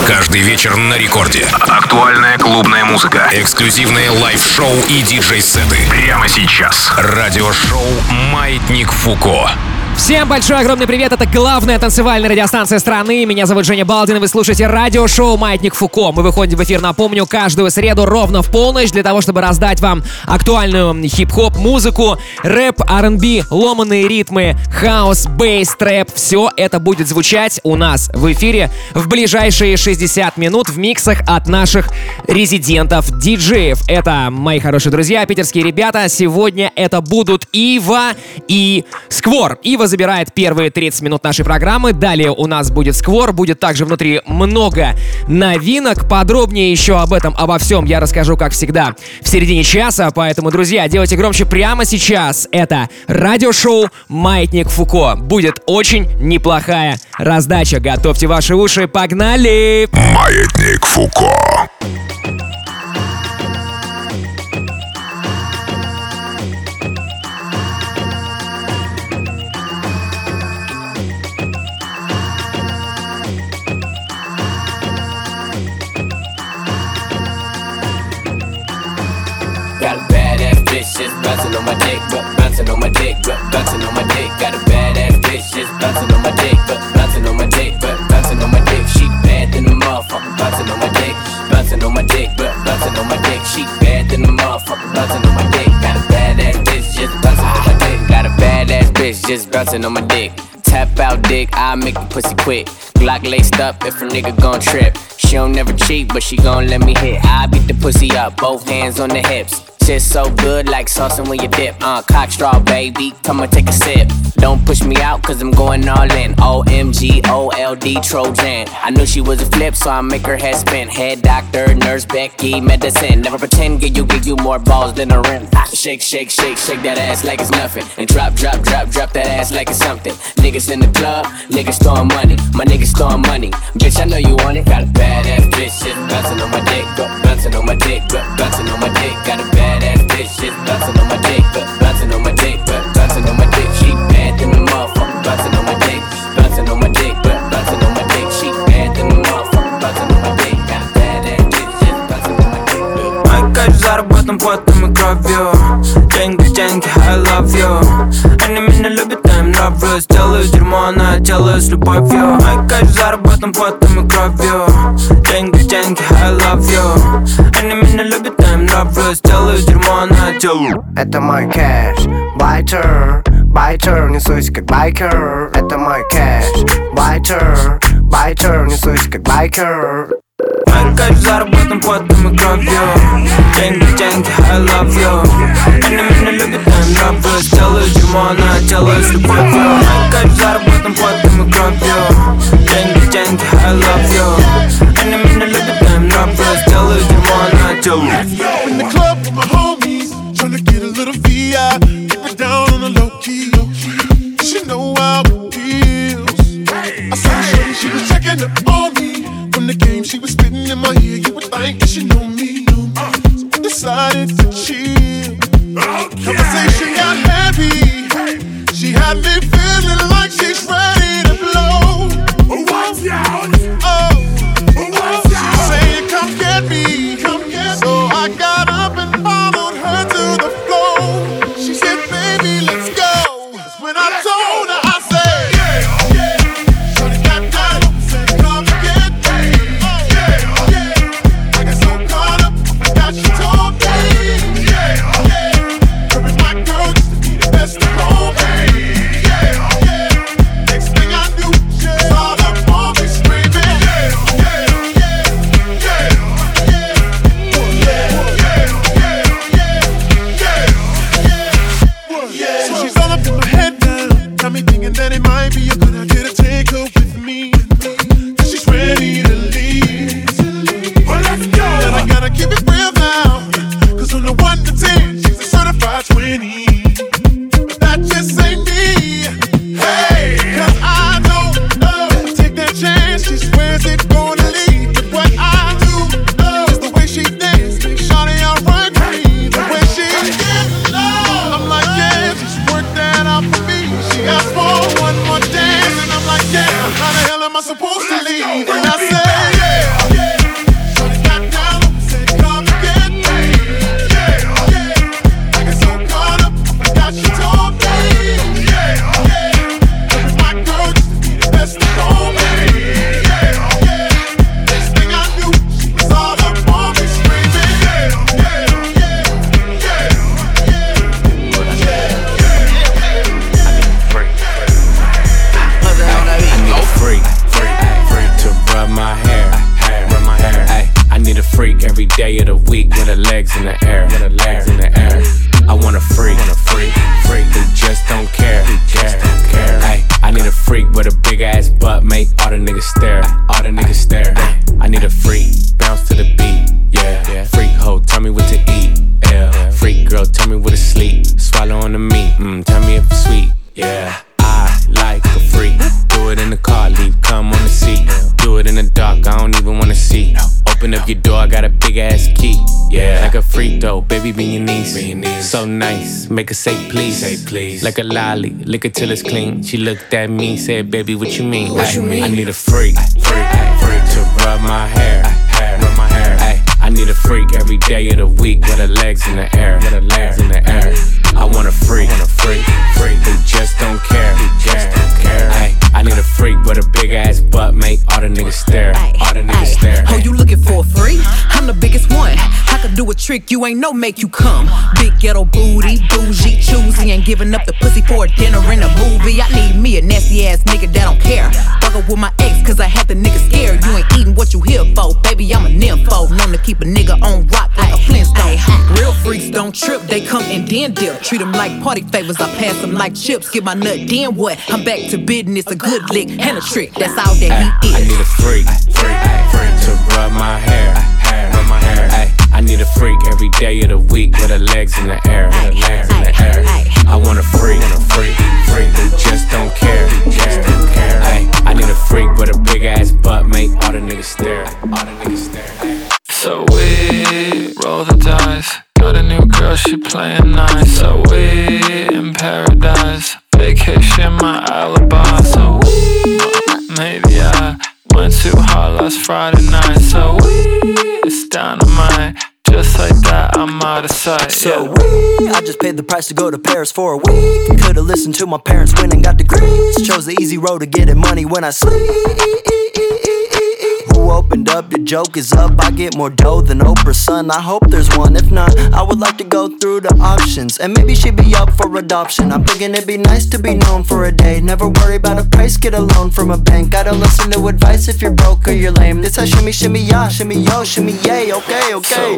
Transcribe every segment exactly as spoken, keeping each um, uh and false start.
Каждый вечер на рекорде. Актуальная клубная музыка. Эксклюзивные лайв-шоу и диджей-сеты. Прямо сейчас. Радиошоу «Маятник Фуко». Всем большой огромный привет, это главная танцевальная радиостанция страны. Меня зовут Женя Балдин, и вы слушаете радиошоу «Маятник Фуко». Мы выходим в эфир, напомню, каждую среду ровно в полночь для того, чтобы раздать вам актуальную хип-хоп музыку, рэп, ар энд би, ломаные ритмы, хаус, бейс, трэп. Все это будет звучать у нас в эфире в ближайшие шестьдесят минут в миксах от наших резидентов-диджеев. Это, мои хорошие друзья, питерские ребята. Сегодня это будут Ива и Сквор. Ива забирает первые тридцать минут нашей программы. Далее у нас будет Сквор. Будет также внутри много новинок. Подробнее еще об этом, обо всем я расскажу, как всегда, в середине часа. Поэтому, друзья, делайте громче прямо сейчас. Это радиошоу «Маятник Фуко». Будет очень неплохая раздача. Готовьте ваши уши. Погнали! «Маятник Фуко». Got a badass bitch just bouncing on my dick, but bouncing on my dick, but bouncing on my dick. Got a badass bitch just bouncing on my dick, but bouncing on my dick, but bouncing on my dick. She bad than the motherfucker, bouncing on my dick, bouncing on my dick, but bouncing on my dick. She bad than the motherfucker, bouncing on my dick. Got a badass bitch just bouncing on my dick. Got a badass bitch just bouncing on my dick. Tap out dick, I make the pussy quick. Glock laced up if a nigga gon' trip. She don't never cheat, but she gon' let me hit. I beat the pussy up, both hands on the hips. Shit so good like saucing when you dip. Uh, cock straw, baby, come and take a sip. Don't push me out, cause I'm going all in. O M G, O L D, Trojan. I knew she was a flip, so I make her head spin. Head doctor, nurse, Becky, medicine. Never pretend, give you, give you more balls than a rim. Shake, shake, shake, shake that ass like it's nothing. And drop, drop, drop, drop that ass like it's something. Niggas in the club, niggas throwing money. My niggas throwing money. Bitch, I know you want it. Got a badass bitch, just bouncing on my dick. Bouncing on my dick, bouncing on my dick. Got a badass bitch, just bouncing on my dick. Bouncing on my dick, bouncing on my dick. She bad than the motherfucker, bouncing on my dick. Bouncing on my dick, bouncing on my dick. She bad than the motherfucker, bouncing on my dick. Got a badass bitch, just bouncing on my dick. Мои кайф заработан потом и кровью. Деньги, деньги, I love you. Они меня любят, я им нравлюсь. Делаю дерьмо, но я делаю с любовью. Мой кайф заработан потом и кровью. Деньги, деньги, I love you. Они меня любят, я им нравлюсь. Делаю дерьмо, но я делаю. Это мой кэш, байтер, байтер, несусь как байкер. Это мой кэш, байтер, байтер, несусь как байкер. Мой кайф заработан потом и кровью. Деньги, деньги, I love you. Они меня любят, я им нравлюсь. Делаю дерьмо, но я делаю с любовью. Мой кайф заработан потом и кровью. Деньги, деньги, I love you. Они меня любят, я им нравлюсь. Делаю дерьмо, но я делаю. In the club with my homies, tryna get a little V I. Keep it down on the low key. She know how it feels. I saw shorty, she was checking up on me. From the game, she was spitting in my ear. You would think that she know me. So we decided to chill. Conversation got heavy. She had me feeling like she's ready to blow. Watch out! Oh, she was saying, "Come get me, come get me." So I got up and followed her to the floor. She said, "Baby, let's go." That's when I told her, I said, "Yeah, yeah." Shorty got down and said, "Come get me." Oh, yeah, yeah. I got so caught up, I forgot she told me. Yeah, yeah. Her and my girl used to be the best of all me. Yeah, yeah. Next thing I knew, she was all up on me screaming. Yeah, yeah, yeah, yeah, yeah, yeah, yeah, yeah, yeah. So she's all up in my head now, got me thinking that it might be a good idea to take her with me. Cause she's ready to leave. Well, let's go. And I gotta keep it real now, cause on the one to ten, she's a certified twenty. But that just ain't me. Hey, cause I don't know. Take that chance, she swears it's gonna lead. But what I do know is the way she dance. Make shawty outright me. The way she gets low. I'm like, yeah, just work that out for me. She asked for one more dance, and I'm like, yeah. How the hell am I supposed to leave? And I say, yeah. day of the week with her legs in the air, with her legs in the air. I want a freak, want a freak, freak who just don't care, who just don't care. Ay, I need a freak with a big ass butt, make all the niggas stare, all the niggas stare. Ay, I need a freak, bounce to the beat, yeah. yeah. Freak hoe, tell me what to eat, yeah. yeah. Freak girl, tell me what to sleep, swallow on the meat, mm, tell me if it's sweet, yeah. I like a freak, do it in the car, leave, come on the seat. Do it in the dark, I don't even wanna see. Open up your door, I got a big ass key. Yeah, like a freak though, baby, be your niece. Be your niece. So nice, make her say please. Say please. Like a lolly, lick it till it's clean. She looked at me, said, baby, what you mean? What you mean? I need a freak, freak, freak to rub my hair, hair, rub my hair. Ay, I need a freak every day of the week with her legs in the air, with her legs in the air. I want a freak, want a freak, freak who just don't care, who just don't care. Ay, I need a freak with a big ass butt, make all the niggas stare, all the niggas stare. Oh, you looking for a freak? I'm the biggest one. I could do a trick you ain't no make you come. Big ghetto booty, bougie, choosy, ain't giving up the pussy for a dinner and a movie. I need me a nasty ass nigga that don't care. Fuck up with my ex cause I had the nigga scared. You ain't eating what you here for, baby, I'm a nympho. Known to keep a nigga on rock like a Flintstone. Real freaks don't trip, they come and then dip. Treat them like party favors, I pass them like chips. Get my nut, then what? I'm back to business, a good lick and a trick, that's all that he is. I need a freak, freak, freak to rub my hair, hair, rub my hair. Ay, I need a freak every day of the week with her legs in the air, with her legs in the air. I want a freak, want a freak, freak who just don't care, who just don't care. Ay, I need a freak with a big ass butt, make all the niggas stare, all the niggas stare. So we roll the dice. Got a new girl, she playing nice. So we in paradise. Vacation, my alibi. So we, maybe I went too hard last Friday night. So we, it's dynamite. Just like that, I'm out of sight. So we, I just paid the price to go to Paris for a week. Could've listened to my parents when and got degrees. Chose the easy road to getting money when I sleep. Who opened up, the joke is up. I get more dough than Oprah's son. I hope there's one, if not, I would like to go through the options. And maybe she'd be up for adoption. I'm thinking it'd be nice to be known for a day. Never worry about a price, get a loan from a bank. Gotta listen to advice if you're broke or you're lame. This a shimmy, shimmy, ya, shimmy, yo, shimmy, yay, okay, okay. So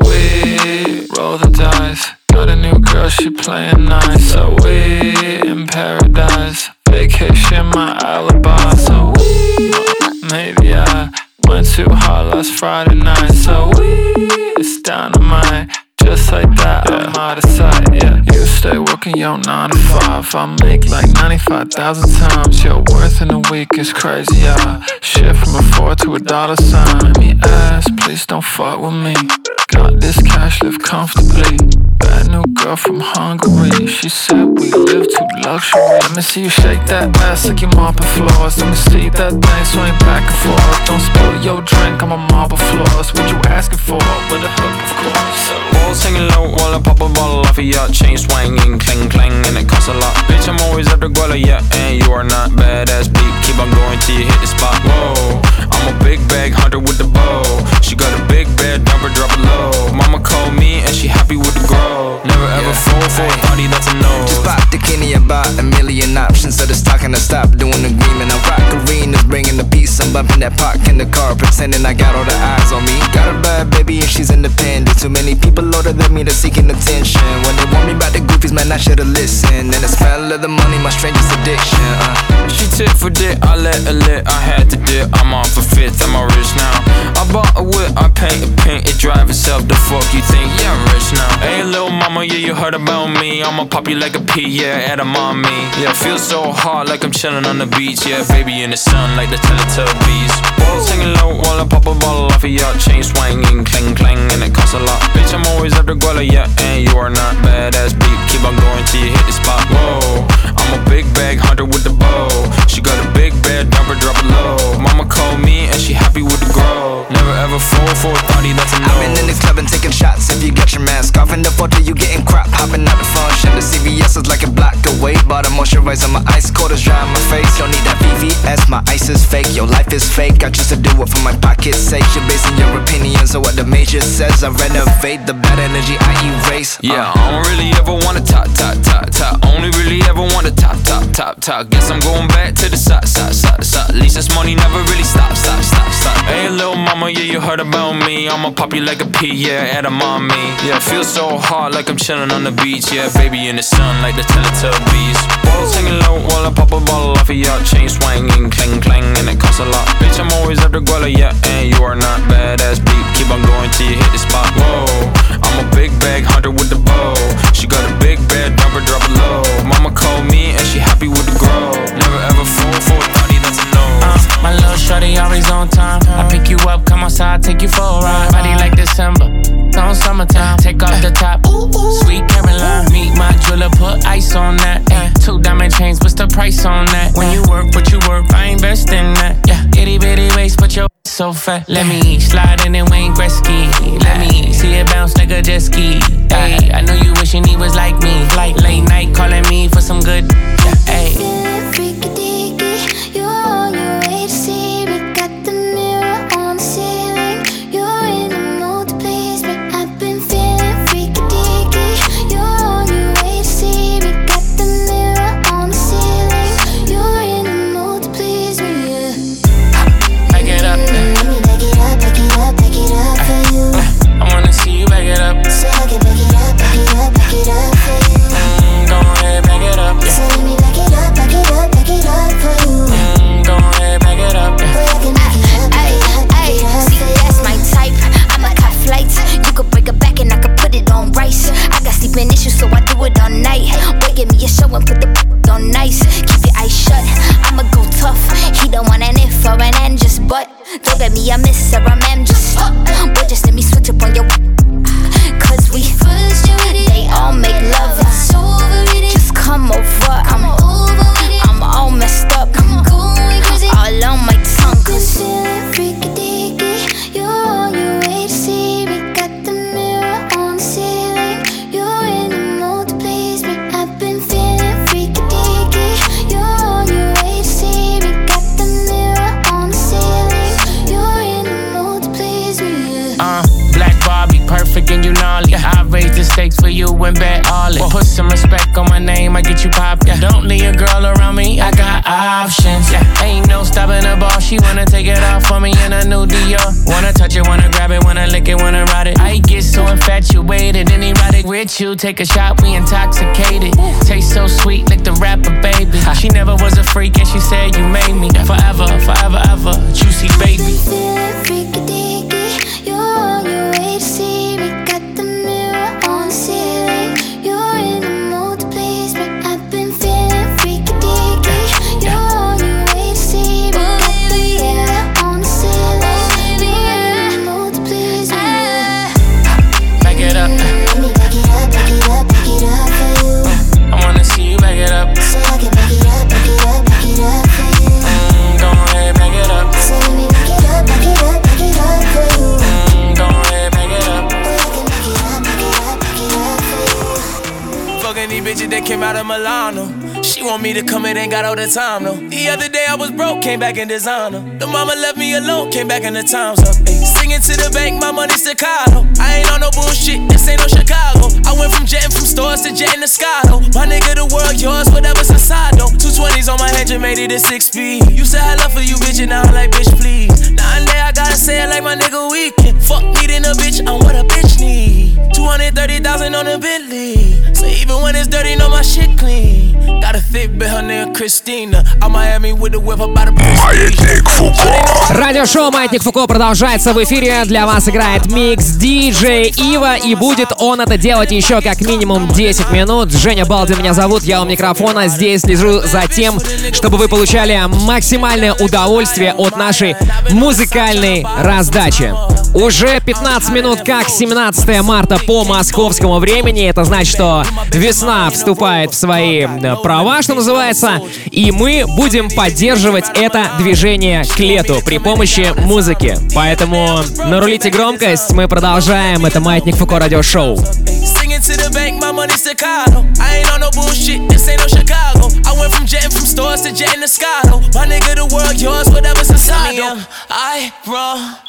we roll the dice. Got a new girl, she playing nice. So we in paradise. Vacation, my alibi. So we, maybe I went too hard last Friday night. So we, it's dynamite. Just like that, yeah. I'm out of sight, yeah. You stay working your nine to five. I make like ninety-five thousand times. Your worth in a week is crazy, yeah. Shift from a four to a dollar sign. Let me ask, please don't fuck with me. Got this cash, live comfortably. Bad new girl from Hungary. She said we live too luxury. Let me see you shake that ass like you're mopping floors. Let me see that thing swing back and forth. Don't spill your drink on my marble floors. What you asking for? With a hook, of course. So walls hanging low while I pop a bottle off of your chain swinging, clang clang, and it costs a lot. Bitch, I'm always at the guala, yeah, and you are not badass beat. Keep on going till you hit the spot. Whoa, I'm a big bag hunter with the bow. She got a big bed, dump her, drop it low. Mama called me and she happy with the grow. Never ever yeah. fall for a thotty, that's a no. Just pop the Kenny about a million options. So just talking to stop doing agreement. I rock arenas, bringing the peace. I'm bumping that park in the car, pretending I got all the eyes on me. Got a bad baby and she's independent. Too many people older than me, they're seeking attention. When they want me about the goofies, man, I should've listened. And the smell of the money, my strangest addiction. uh. She tit for dick, I let her lit. I had to dip, I'm off a fifth, I'm all rich now. I bought a whip, I paint a paint, it drive itself. The fuck you think? Yeah, I'm rich now. Hey, little mama, yeah, you heard about me. I'ma pop you like a pea, yeah, at a mommy. Yeah, feel so hot like I'm chilling on the beach. Yeah, baby in the sun like the Teletubbies. Walls hanging low while I pop a bottle off of your chain swinging, clang clang, and it costs a lot. Bitch, I'm always at the guala, yeah, and you are not badass beat. Keep on going till you hit the spot. Whoa, I'm a big bag hunter with the bow. She got a big bed, dump her, drop it low. Mama called me and she happy with the grow. Never ever fall for a thotty, that's a no. I've been in the club and taking shots. If you got your mask off in the photo, you getting crap. Hopping out the function, the C V S is like a block away. Bought a moisturizer, my ice cold is dry on my face. Don't need that V V S, my ice is fake. Your life is fake, I choose to do it for my pocket's sake. You're basing your opinions on what the major says. I renovate the bad energy, I erase. uh. Yeah, I don't really ever wanna top, top, top, top. Only really ever wanna top, top, top, top. Guess I'm going back to the side, side, side, side. At least this money never really stop, stop, stop, stop. Hey, little mama, mama, yeah, you heard about me. I'ma pop you like a pea, yeah, edamame. Yeah, feel so hot like I'm chilling on the beach. Yeah, baby in the sun like the Teletubbies. Balls hanging low while I pop a bottle off of your chain swinging, clang clang, and it costs a lot. Bitch, I'm always after Guala, yeah, and you are not badass beat. Keep on going till you hit the spot. Whoa, I'm a big bag hunter with the bow. She got a big bed, dump her, drop it low. Mama called me and she happy with the grow. Never ever fall for a thotty, that's a no. Uh, my little shorty always on time. I pick you up, come outside, take you for a ride. Body like December, on summertime. Take off the top, sweet Caroline. Meet my jeweler, put ice on that. Yeah. Two diamond chains, what's the price on that? When you work, what you work, I invest in that. Yeah, itty bitty waist, but your so fat. Let me slide in and Wayne Gretzky. Let me see it bounce like a jet ski. Ay, I know you wishing he was like me. Like late night calling me for some good. Yeah, ay. Freaky deaky, you're on your way to see me. Got the mirror on the ceiling. You're in the mood to please me. I've been feeling freaky deaky. You're on your way to see me. Got the mirror on the ceiling. You're in the mood to please me. Yeah. Back it up. Let me back it up, back it up, back it up for you. I wanna see you back it up. So I can back it up, back it up, back it up for you. Mm, go ahead, back it up. Yeah. So let me back it up, back it up, back it up for you. Mm, go ahead, back it up. Yeah. Boy, I can back it up, back it up, back it up. See, that's my type. I'ma cut flights. You could break a back and I could put it on rice. I got sleeping issues, so I do it all night. Boy, give me a show and put the on nice. Keep your eyes shut. I'ma go tough. He don't want an if or an and just but. Don't get me a miss or a ma'am, just boy, just let me switch up on your. Cause we First you with it, they all make love. it's over with it. Just come over. I'm Over with it, I'm all messed up. I'm going crazy. All on my tongue. Cause feeling freaky deaky. You're on your way to see me. Got the mirror on the ceiling. You're in the mood to please me. I've been feeling freaky deaky. You're on your way to see me. Got the mirror on the ceiling. You're in the mood to please me. Yeah. Uh, Black Barbie, perfect and you gnarly. Yeah. I raise the stakes for you and bet all it. Well, put some respect on my name, I get you pop. Yeah. Don't leave a girl around me, I got options. Yeah. Ain't no stopping the ball, she wanna take it off for me in a new Dior. Wanna touch it, wanna grab it, wanna lick it, wanna ride it. I get so infatuated and erotic with you. Take a shot, we intoxicated. Taste so sweet, like the rapper, baby. She never was a freak and she said you made me. Forever, forever, ever, juicy baby. Feeling freaky deaky. You're on your way to see me. Got the mirror on the ceiling. You're in the mood to please me. I've been feeling freaky deaky. You're on your way to see me. Got the mirror on the ceiling. You're in the mood to please me. Back it up. Let me back it up, back it up, back it up for you. I wanna see you back it up. So I can back it up, back it up, back it up for you. Mm, go ahead, back it up. So let me back it up, back it up, back it up for you. Mm, go ahead, back it up. Boy, I can back it up, back it up, back it up for you. Fucking these bitches that came out of Milano. She want me to come in, ain't got all the time, no. The other day I was broke, came back in designer. The mama left me alone, came back in the times up. Ay, singing to the bank, my money Staccato. I ain't on no bullshit, this ain't no Chicago. I went from jetting from stores to jetting to Scotto. My nigga, the world yours, whatever's inside though. Two twenties on my head, just made it a six speed. You said I love for you, bitch, and now I'm like, bitch, please. Now and then I gotta say it like my nigga Weekend. Fuck needing a bitch, I'm what a bitch need. two hundred thirty thousand on the Bentley. So even when it's dirty, know my shit clean. Got a thick bitch, her name Christina. I'm Miami with the whip, about to Маятник Фуко. Радиошоу «Маятник Фуко» продолжается в эфире. Для вас играет микс диджей Ива. И будет он это делать еще как минимум десять минут. Женя Балдин меня зовут, я у микрофона. Здесь слежу за тем, чтобы вы получали максимальное удовольствие от нашей музыкальной раздачи. Уже пятнадцать минут как семнадцатое марта по московскому времени. Это значит, что весна вступает в свои права, что называется. И мы будем поддерживать это движение к лету при помощи музыки. Поэтому нарулите громкость, мы продолжаем. Это «Маятник Фуко» радиошоу. To the bank, my money Staccato. I ain't on no bullshit, this ain't no Chicago. I went from jetting from stores to jetting to Scotto. My nigga, the world yours, whatever's inside though. I run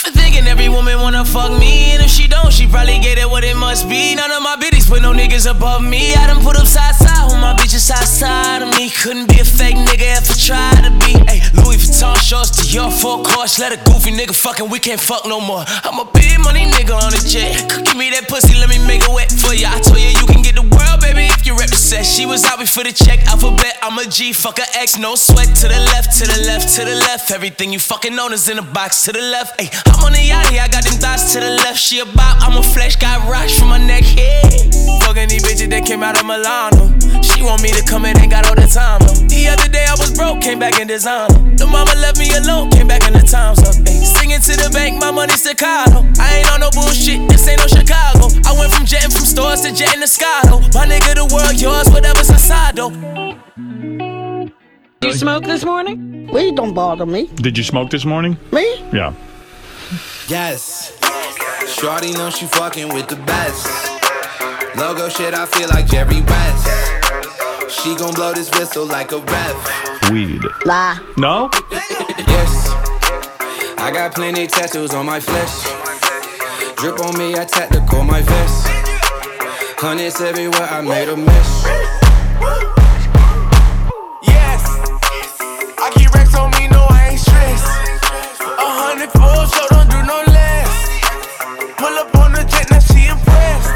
Thinking every woman wanna fuck me, and if she don't, she probably get it what it must be. None of my bitches put no niggas above me. I done put up side side with my bitches side side of me. Couldn't be a fake nigga if I tried to be. Ay, Louis Vuitton shorts to your full course. Let a goofy nigga fucking, we can't fuck no more. I'm a big money nigga on a jet. Give me that pussy, let me make it wet for ya. I told you you can get the world, baby, if you represent. She was out before the check, alphabet. I'm a G, fuck a X, no sweat. To the left, to the left, to the left. Everything you fucking own is in a box. To the left, ay, I'm on the yachty, I got them thoughts to the left. She a bop, I'm a flesh, got rocks from my neck, yeah. Fucking these bitches that came out of Milano. She want me to come in, ain't got all the time, though. The other day I was broke, came back in designer. The mama left me alone, came back in the times up, ay. Singing to the bank, my money staccato. I ain't on no bullshit, this ain't no Chicago. I went from jetting from stores to jetting the sky, though. My nigga, the world yours, whatever's inside, though. Did you smoke this morning? Weed don't bother me. Did you smoke this morning? Me? Yeah. Yes. Shorty know she fucking with the best. Logo shit, I feel like Jerry West. She gon' blow this whistle like a ref. Weed. Lie. No? Yes. I got plenty tattoos on my flesh. Drip on me, I tactical my vest. Hundreds everywhere, I made a mess. I keep racks on me, no I ain't stressed. A hundred full, so don't do no less. Pull up on the jet, now she impressed.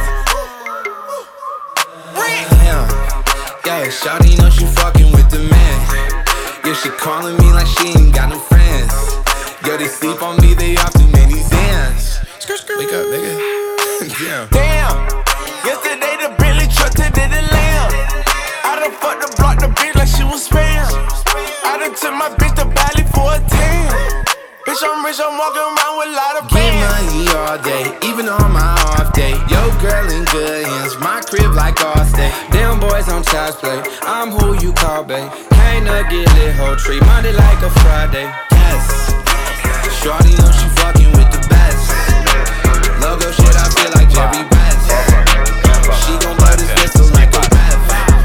Yeah, yeah, shawty know she fucking with the man. Yeah, she calling me like she ain't got no friends. Yo, they sleep on me, they off too many dance. Wake up, nigga. Damn. Damn, yesterday the Bentley truck today the lamb. I done fucked the block, the bitch like she was spam. I done took my bitch to Bali for a tan. Bitch, I'm rich, I'm walking around with a lot of Get bands. money all day, even on my off day. Yo, girl in good hands, my crib like Allstate. Damn boys on child's play, I'm who you call, babe. Can't not get lit, whole tree, Monday like a Friday. Yes, shorty know she fucking with the best. Logo shit, I feel like Jerry West. She gon' blow this whistle like a ref.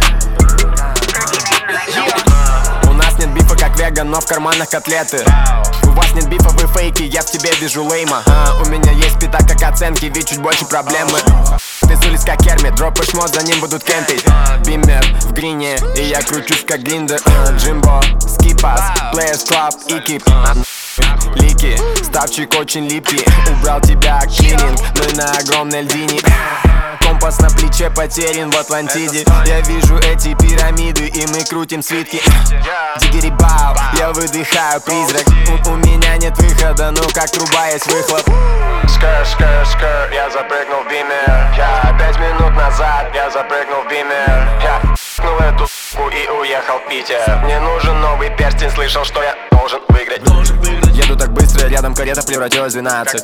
У нас нет бифа как веган, но в карманах котлеты. У вас нет бифа, вы фейки, я в тебе вижу лейма. а, У меня есть пита как оценки, ведь чуть больше проблемы. Ты с улиц как Кермит, дропаешь мод, за ним будут кемпить. Биммер в грине, и я кручусь как Гриндер. Джимбо, скипас, Players Club и кип. Лики, ставчик очень липкий. Убрал тебя клининг, мы на огромной льдине. Компас на плече потерян в Атлантиде. Я вижу эти пирамиды, и мы крутим свитки. Дигери-бау, я выдыхаю призрак. у, у меня нет выхода, ну как труба есть выхлоп. Скр, скр, скр, я запрыгнул в бимер. Я пять минут назад, я запрыгнул в бимер. Я f***нул эту с***ку и уехал в Питер. Мне нужен новый перстень, слышал, что я должен выиграть. Еду так быстро, рядом карета превратилась в двенадцать.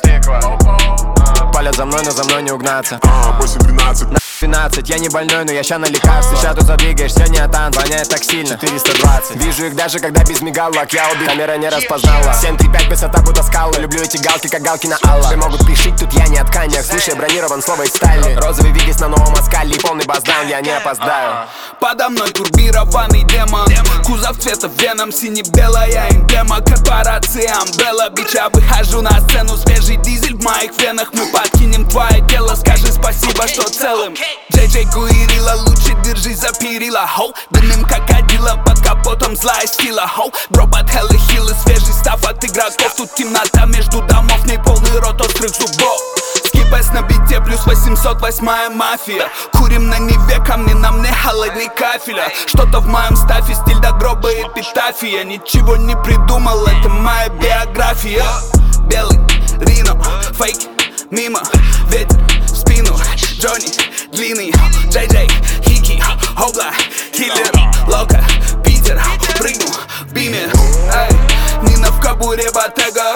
Палят за мной, но за мной не угнаться. восемь двенадцать двенадцать, я не больной, но я ща на лекарстве. Ща тут задвигаешь, все не атан, воняет так сильно. Четыреста двадцать, вижу их даже когда без мигалок. Я убит, камера не распознала. Семь три пять, высота будто скала. Люблю эти галки, как галки на Алла. Все могут пришить, тут я не от тканях. Слушай, бронирован слово из стали. Розовый вигис на новом оскале и полный баздаун, я не опоздаю. Подо мной турбированный демон. Кузов цвета веном, сине-белая эмблема. Корпорации Umbrella, бич, я выхожу на сцену. Свежий дизель в моих венах. Мы подкинем твое тело, скажи спасибо, что целым. Джей Джей Гуирила, лучше держись за перила, хоу. Дымим как кадила, под капотом злая сила, хоу. Дроп от Хеллы Хиллы, свежий став от игроков. Тут темнота между домов, в ней полный рот острых зубов. Скипэс на бите, плюс восемьсот восьмая мафия. Курим на Неве, камни на мне, холодный кафеля. Что-то в моем стафе, стиль до гроба эпитафия. Ничего не придумал, это моя биография. Белый, Рино, фейк, мимо, ветер в спину. Джонни, длинный, Джей Джей, Хики, Огла, Киллер, Лока, Питер, прыгнул в биме. Эй, Нина в кабуре, Ботега.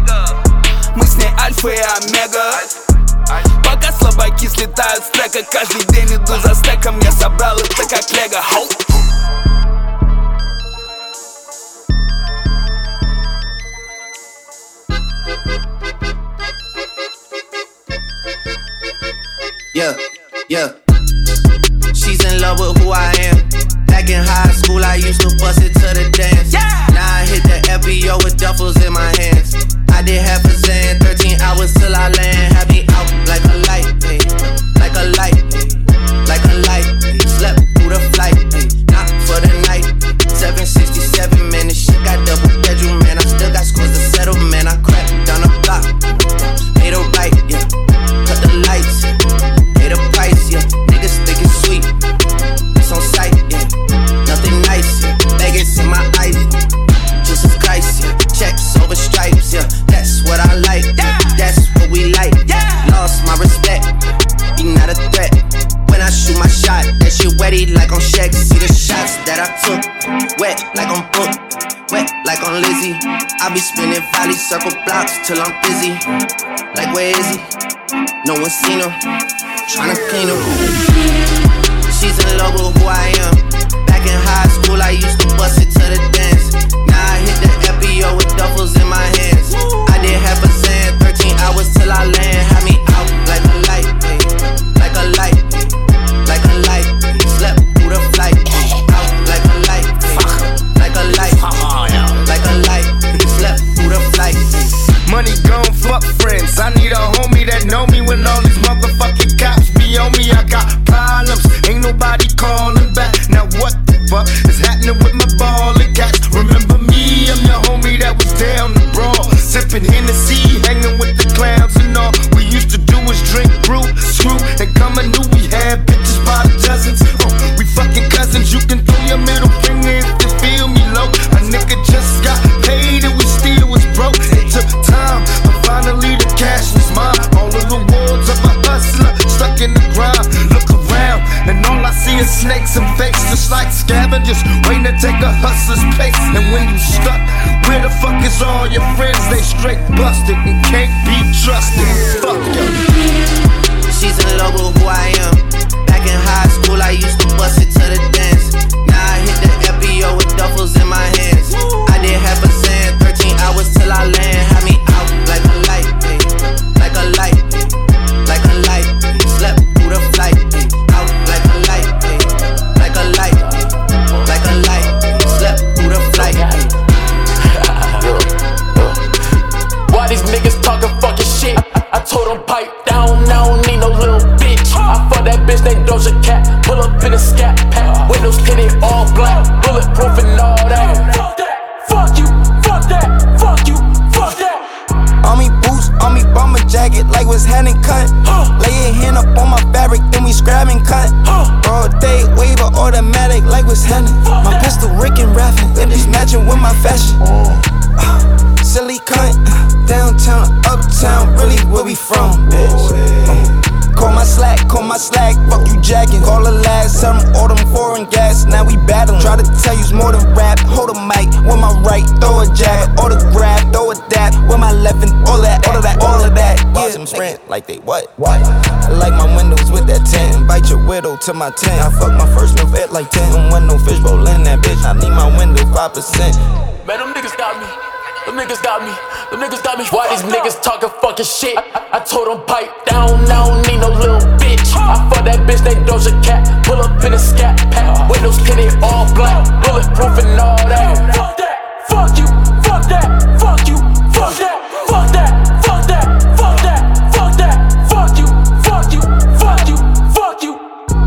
Мы с ней альфа и омега. Пока слабаки слетают с трека, каждый день иду за стеком. Я собрал это как лего, хоу. Yeah, yeah. She's in love with who I am. Back in high school, I used to bust it to the dance. Yeah. Now I hit the F B O with duffels in my hands. I did half a Zan, hours till I land. Had me out like a light, ay, like a light, ay, like a light. Ay. Slept through the flight, ay, not for the night. seven sixty-seven, man, this shit got double bedroom, man. I still got scores to settle, man. I cracked down the block, made a right, yeah. Cut the lights, pay the price, yeah. Niggas think it's sweet, it's on sight, yeah. Nothing nice, yeah. Vegas in my eyes, Jesus Christ, yeah. Checks over stripes, yeah. That's what I like, yeah. That's what we like, yeah. Lost my respect, you not a threat. When I shoot my shot, that shit wetty like on Shaq. See the shots that I took, wet like on Book, wet like on Lizzie. I be spinning valley circle blocks till I'm busy. Like where is he? No one seen him. Tryna clean him. She's in love with who I am. Back in high school, I used to bust it to the dance. Now I hit the F B O with duffels in my hands. I did half a cent, thirteen hours till I land. Had me out like a light, ay, like a light, ay, like a light. Ay. Slept through the flight, ay, out like a light, ay, like a light, ay, like a light. Ay. Slept through the flight. Ay. Money gon' fuck friends. I need a homie that know me when all these motherfucking cops be on me. I got problems, ain't nobody calling back. Now what the fuck is happening with my ballin' cats? Remember me, I'm your homie that was down the brawl, sippin' Hennessy, hanging with the clowns and all. We used to do is drink, brew, screw, and come and knew we had bitches by the dozens. Oh, we fucking cousins. You can throw your middle finger if you feel me low. A nigga just got paid and we still was broke. It took time, but finally the cash was mine. All the rewards of a hustler stuck in the grind. Look around and all I see is snakes and fakes, just like scavengers waiting to take a hustler's place. And when you stuck, where the fuck is all your friends? They straight busted and can't be trusted. Fuck you. She's in love with who I am. Back in high school, I used to bust it to the dance. Now I hit the F B O with duffels in my hands. I did half a cent, thirteen hours till I land. Had me out like a light, ay, like a light, ay, like a light. Ay. Slept through the flight, ay, out like a light, ay, like a light, ay, like a light. Ay. Slept through the flight. Ay. Why these niggas talking fucking shit? I told them pipe down, I don't need no little bitch. I fuck that bitch named Doja Cat. Pull up in a scat pack, windows tinted all black, bulletproof and all that. Fuck that, fuck you, fuck that, fuck you, fuck that. On me boots, on me bomber jacket, like what's hand and cut. Lay your hand up on my fabric, then we scrap and cut. Broad day, waiver, automatic, like what's happening. My pistol Rick and rapping, then it's matching with my fashion. Silly cunt, downtown, uptown, really where we from, bitch. Call my slack, call my slack, fuck you jacking. Call the last, tell them all them foreign gas, now we battling. Try to tell you's more than rap, hold a mic, with my right, throw a jab, autograph, throw a dap, with my left and all that, all of that, all of that. Yeah, them sprint like they what? What? I like my windows with that tint, invite your widow to my tent. I fuck my first new vet like ten, don't want no fish roll in that bitch, I need my window five percent. Man, them niggas got me. Them niggas got me, them niggas got me. Why these niggas talking fucking shit? I, I, I told them pipe down, I don't need no little bitch. I fuck that bitch named Doja Cat. Pull up in a scat pack, windows tinted all black, bulletproof and all that. Fuck that, fuck you, fuck that, fuck you, fuck that, fuck that, fuck that, fuck that, fuck that, fuck you, fuck you, fuck you, fuck you.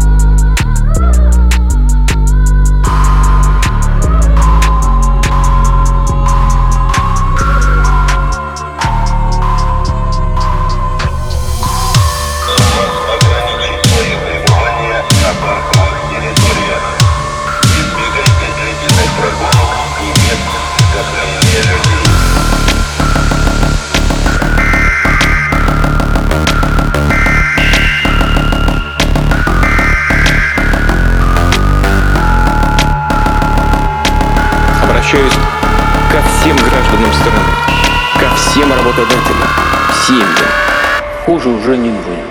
Обращаюсь ко всем гражданам страны, ко всем работодателям, семьям. Хуже уже не будет.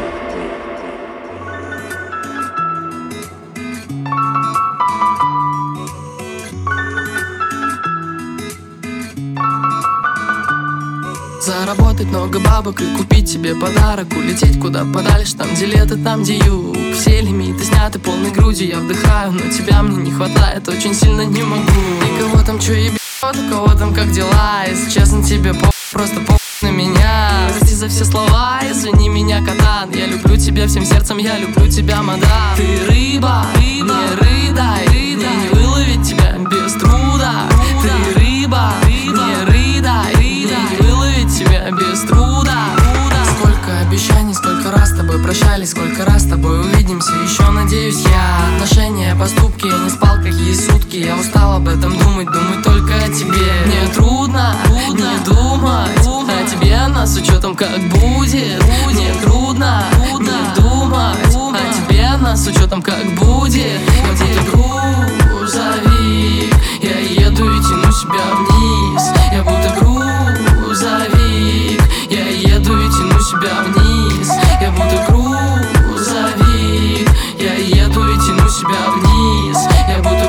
Заработать много бабок и купить себе подарок, улететь куда подальше, там где лето, там где юг. Все лимиты сняты полной грудью, я вдыхаю, но тебя мне не хватает, очень сильно не могу. И кого там чё ебет, у кого там как дела, если честно тебе по просто по на меня. Прости за все слова. Извини меня, Катан, я люблю тебя всем сердцем, я люблю тебя, мадам. Ты рыба, рыба, не рыдай, мне не выловить тебя без труда. Ты рыба, не рыдай, мне не выловить тебя без труда. Сколько обещаний, сколько раз с тобой прощались, сколько раз с тобой увидимся, еще надеюсь я. Отношения, поступки, я не спал какие сутки, я устал об этом думать, думать только о тебе. Мне трудно, трудно не думать о тебе, но с учетом как будет. Мне трудно, трудно не думать о тебе, но с учетом как будет. Я буду грузовик, я еду и тяну себя вниз. Я будто грузовик, я еду и тяну себя вниз. Я будто грузовик, я еду и тяну себя вниз. Я будто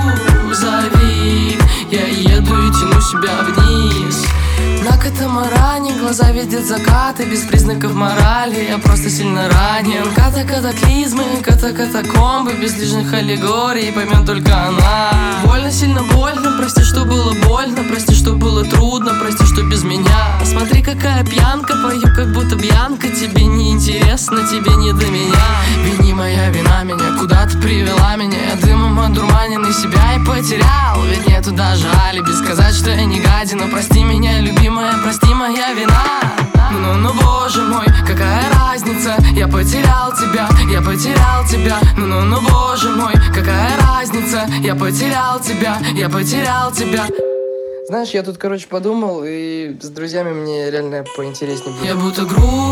грузовик, я еду и тяну себя вниз. На катамаране глаза видят закаты, без признаков морали, я просто сильно ранен. Ката-катаклизмы, ката-катакомбы, без лишних аллегорий, поймет только она. Больно, сильно больно, прости, что было больно, прости, что было трудно, прости, что без меня. Смотри, какая пьянка, пою, как будто бьянка. Тебе не интересно, тебе не до меня. Вини, моя вина меня куда-то привела меня. Я дымом одурманенный себя и потерял. Ведь нету даже алиби сказать, что я не гадина. Прости меня, любимая, прости, моя вина. Ну, ну, боже мой, какая разница? Я потерял тебя, я потерял тебя. Ну, ну, ну, боже мой, какая разница? Я потерял тебя, я потерял тебя. Знаешь, я тут, короче, подумал, и с друзьями мне реально поинтереснее будет. Я будто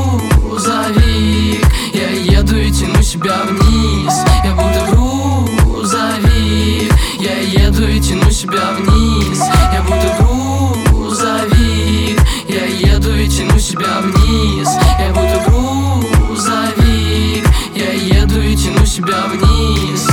грузовик, я еду и тяну себя вниз. Я будто грузовик, я еду и тяну себя вниз. Я будто грузовик, я еду и тяну себя вниз. Я будто грузовик, я еду и тяну себя вниз.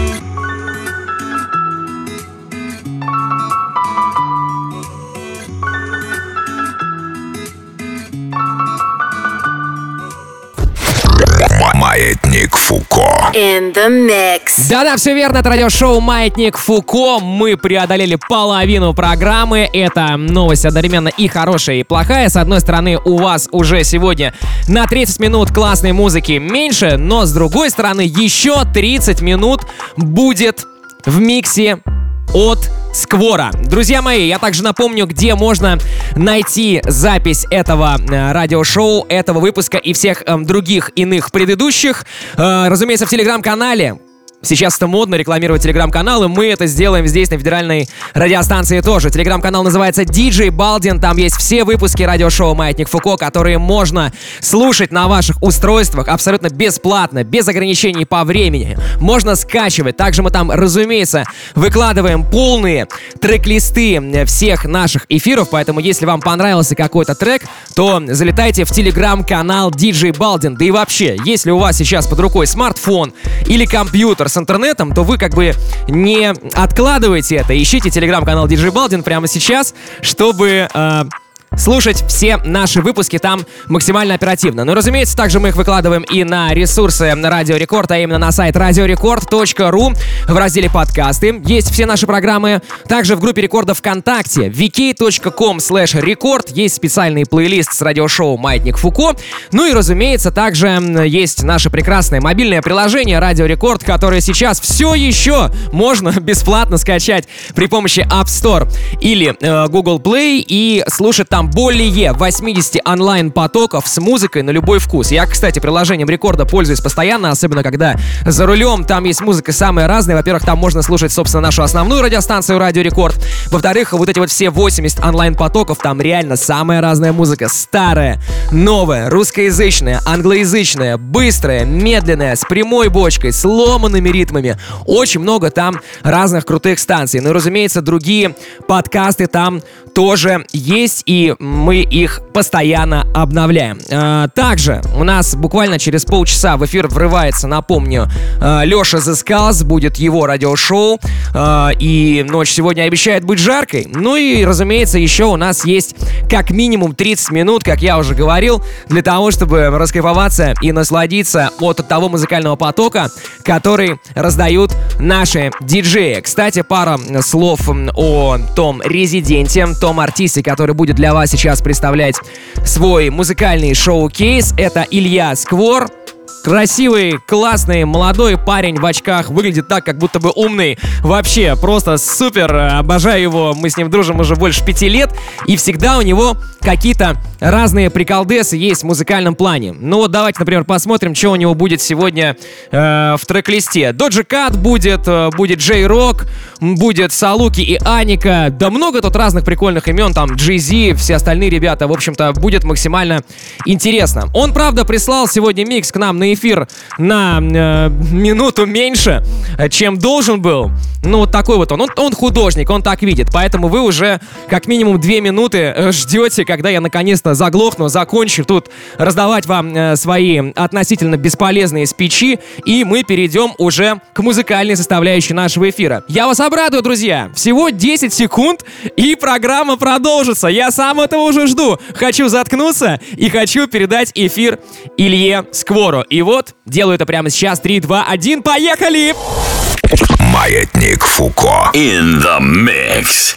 Маятник Фуко. In the mix. Да-да, все верно, это радиошоу «Маятник Фуко». Мы преодолели половину программы. Это новость одновременно и хорошая, и плохая. С одной стороны, у вас уже сегодня на тридцать минут классной музыки меньше, но с другой стороны, еще тридцать минут будет в миксе от Сквора. Друзья мои, я также напомню, где можно найти запись этого э, радиошоу, этого выпуска и всех э, других иных предыдущих. Э, разумеется, в телеграм-канале. Сейчас это модно рекламировать телеграм-каналы. Мы это сделаем здесь, на федеральной радиостанции тоже. Телеграм-канал называется ди джей Балдин. Там есть все выпуски радиошоу «Маятник Фуко», которые можно слушать на ваших устройствах абсолютно бесплатно, без ограничений по времени. Можно скачивать. Также мы там, разумеется, выкладываем полные трек-листы всех наших эфиров. Поэтому, если вам понравился какой-то трек, то залетайте в телеграм-канал ди джей Балдин. Да и вообще, если у вас сейчас под рукой смартфон или компьютер с интернетом, то вы как бы не откладывайте это. Ищите телеграм-канал ди джей Балдин прямо сейчас, чтобы э, слушать все наши выпуски там максимально оперативно. Ну и, разумеется, также мы их выкладываем и на ресурсы Радио Рекорд, а именно на сайт радиорекорд точка ру в разделе подкасты. Есть все наши программы. Также в группе Рекорда ВКонтакте ви кей точка ком слэш рекорд есть специальный плейлист с радиошоу «Маятник Фуко». Ну и, разумеется, также есть наше прекрасное мобильное приложение Радио Рекорд, которое сейчас все еще можно бесплатно скачать при помощи App Store или э, Google Play и слушать там более восемьдесят онлайн-потоков с музыкой на любой вкус. Я, кстати, приложением Рекорда пользуюсь постоянно, особенно когда за рулем. Там есть музыка самая разная. Во-первых, там можно слушать, собственно, нашу основную радиостанцию Радио Рекорд. Во-вторых, вот эти вот все восемьдесят онлайн-потоков, там реально самая разная музыка. Старая, новая, русскоязычная, англоязычная, быстрая, медленная, с прямой бочкой, с ломаными ритмами. Очень много там разных крутых станций. Ну и, разумеется, другие подкасты там тоже есть, и мы их постоянно обновляем. А, также у нас буквально через полчаса в эфир врывается, напомню, Леша The Skulls, будет его радиошоу, а, и ночь сегодня обещает быть жаркой. Ну и, разумеется, еще у нас есть как минимум тридцать минут, как я уже говорил, для того, чтобы раскайфоваться и насладиться от того музыкального потока, который раздают наши диджеи. Кстати, пара слов о том резиденте, том артисте, который будет для вас вас сейчас представлять свой музыкальный шоу-кейс. Это Илья Сквор. Красивый, классный, молодой парень в очках. Выглядит так, как будто бы умный. Вообще, просто супер. Обожаю его. Мы с ним дружим уже больше пяти лет. И всегда у него какие-то разные приколдесы есть в музыкальном плане. Ну вот давайте, например, посмотрим, что у него будет сегодня э, в трек-листе. Доджи Кат будет, э, будет Джей Рок, будет Салуки и Аника. Да много тут разных прикольных имен. Там Джей Зи, все остальные ребята. В общем-то, будет максимально интересно. Он, правда, прислал сегодня микс к нам на эфир на э, минуту меньше, чем должен был. Ну, вот такой вот он. он. Он художник, он так видит. Поэтому вы уже как минимум две минуты ждете, когда я наконец-то заглохну, закончу тут раздавать вам э, свои относительно бесполезные спичи, и мы перейдем уже к музыкальной составляющей нашего эфира. Я вас обрадую, друзья. Всего десять секунд, и программа продолжится. Я сам этого уже жду. Хочу заткнуться и хочу передать эфир Илье Сквору. И вот, делаю это прямо сейчас. три, два, один, поехали! Маятник Фуко. In the mix.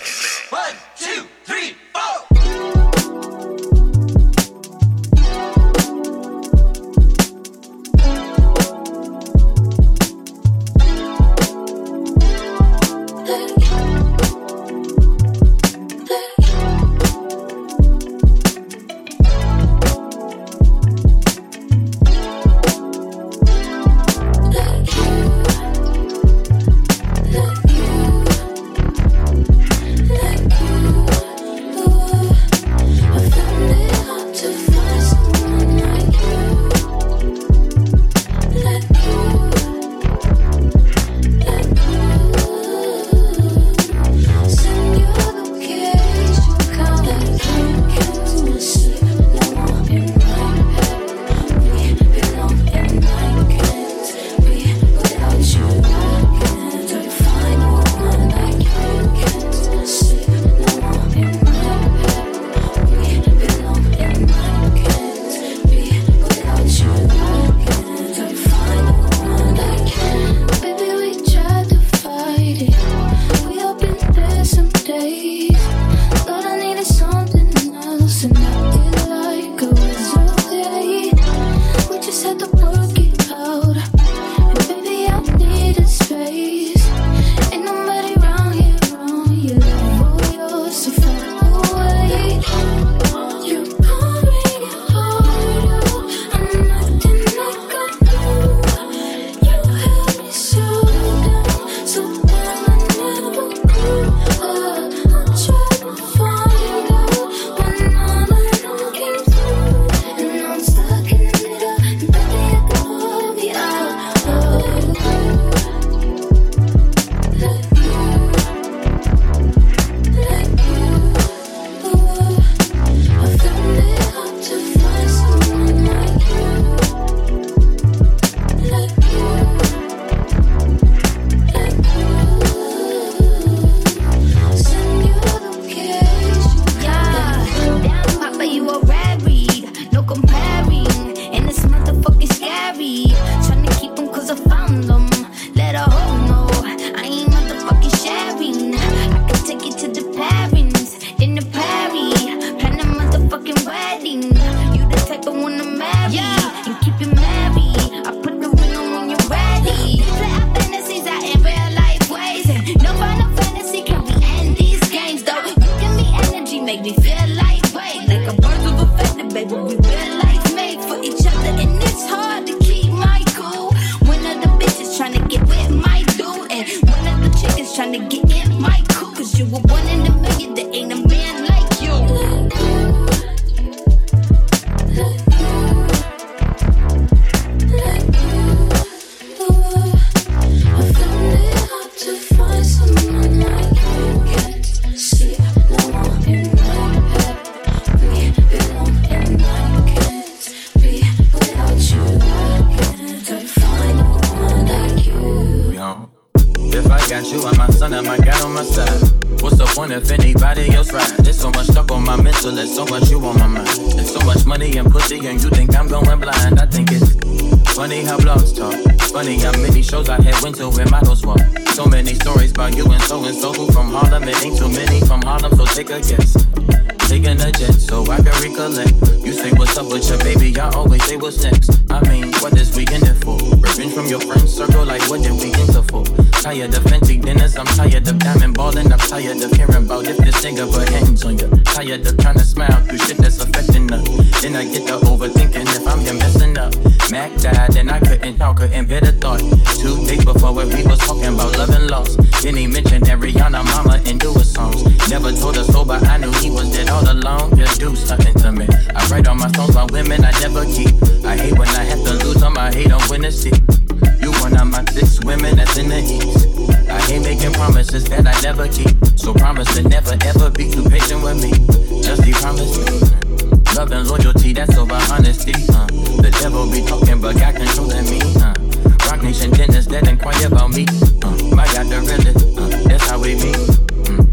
taking a jet so I can recollect. You say what's up with your baby, I always say what's next. I mean, what this weekend is for? Revenge from your friends circle, like what did we enter for? Tired of fancy dinners, I'm tired of diamond balling. I'm tired of hearing about if this nigga put hands on you. Tired of trying to smile through shit that's affecting us. Then I get to overthinking if I'm here messing up. Mac died and I couldn't talk, couldn't bear the thought. Two days before when we was talking about love and loss. Then he mentioned Ariana, mama, and do his songs. Never told us so, but I knew he was dead all alone. Just do something to me. I write all my songs about women I never keep. I hate when I have to lose them, I hate them when it's sick. You one of my six women that's in the east. I hate making promises that I never keep. So promise to never ever be too patient with me. Just be promise me. Love and loyalty, that's over honesty. Uh. The devil be talking, but God controlling me. Uh. Rock Nation dinners that inquire about me. Uh. My God, the realest. Uh. That's how we meet. Mm.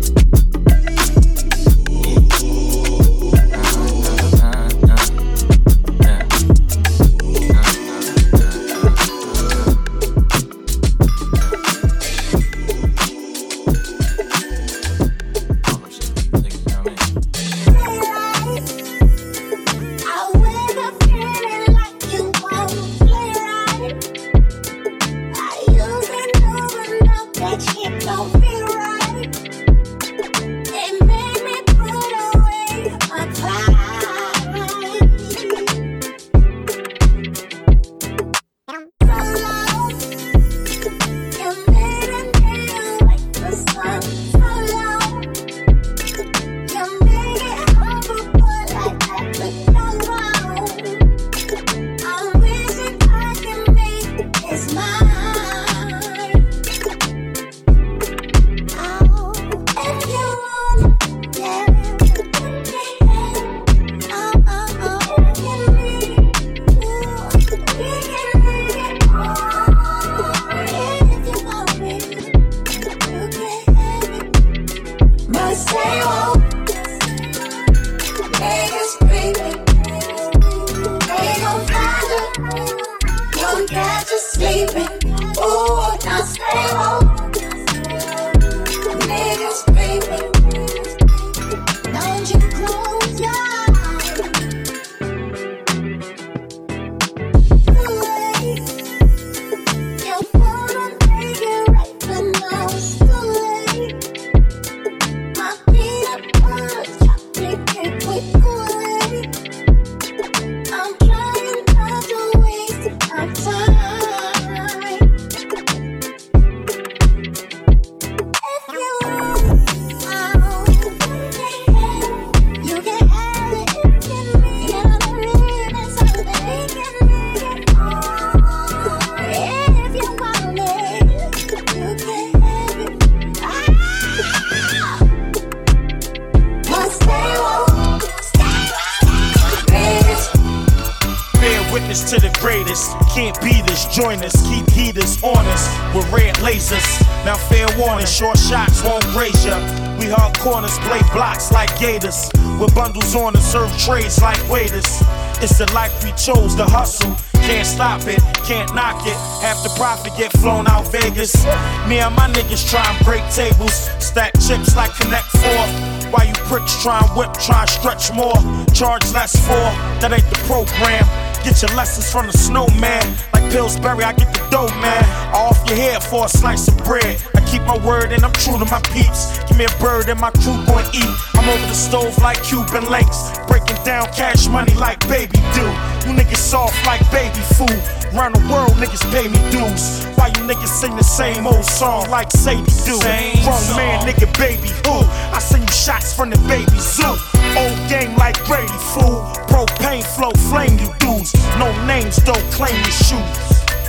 Join us, keep heaters on us with red lasers. Now fair warning, short shots won't graze ya. We hard corners, play blocks like gators. With bundles on to serve trays like waiters. It's the life we chose to hustle. Can't stop it, can't knock it. Half the profit get flown out Vegas. Me and my niggas try and break tables. Stack chips like Connect Four. Why you pricks try and whip, try and stretch more. Charge less for, that ain't the program. Get your lessons from the snowman. Like Pillsbury, I get the dough, man. I off your head for a slice of bread. I keep my word and I'm true to my peeps. Give me a bird and my crew gon' eat. I'm over the stove like Cuban links. Breaking down cash money like baby do. You niggas soft like baby food. Round the world, niggas pay me dues. Why you niggas sing the same old song like Sadie do? Grown man, nigga, baby who? I send you shots from the baby zoo. Old game like Brady, fool. Propane flow, flame you dudes. No names, don't claim your shoes.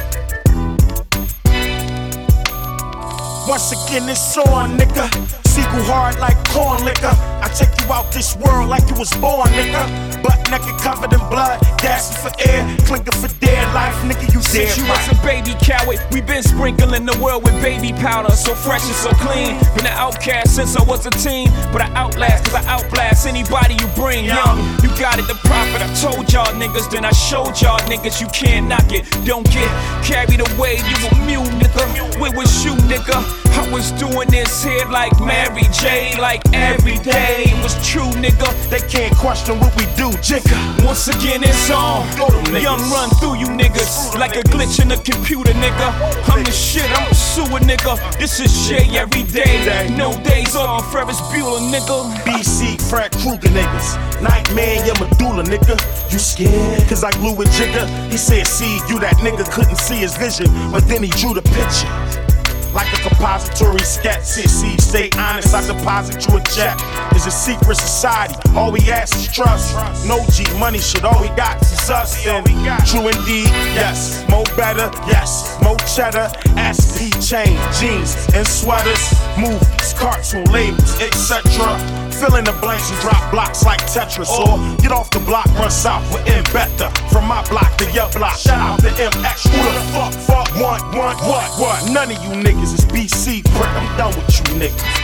Once again, it's on, nigga. Seagull hard like corn liquor. I take you out this world like you was born, nigga. Butt naked, covered in blood, gasping for air, clinking for dear life, nigga. You dead. Since you was a baby coward, we been sprinkling the world with baby powder, so fresh and so clean. Been an outcast since I was a teen, but I outlast, cause I outblast anybody you bring. Young, you got it, the prophet. I told y'all niggas, then I showed y'all niggas you can't knock it. Don't get carried away, you a mule, nigga. Where was you, nigga? I was doing this here like man. Mary J like every day. It was true, nigga. They can't question what we do, jigga. Once again, it's on. Young run through you niggas like a glitch in the computer, nigga. I'm the shit, I'm a sewer, nigga. This is shit every day. No days off, Ferris Bueller, nigga. B C, Fred Krueger, niggas. Nightmare, your medulla, nigga. You scared? Cause I glue with Jigga. He said, see you, that nigga couldn't see his vision, but then he drew the picture. Like a compository sketch, see, stay honest, I deposit you a check. It's a secret society, all we ask is trust. No G money shit, all we got is us. And true indeed, yes. More better, yes. More cheddar, S P chain, jeans and sweaters, movies, cartoon labels, et cetera. Fill in the blanks and drop blocks like Tetris. Or get off the block, run south with M Better. From my block to your block, shout out to M X. Who the fuck, fuck, want, want, what, what? None of you niggas is B C, prick, I'm done with you niggas.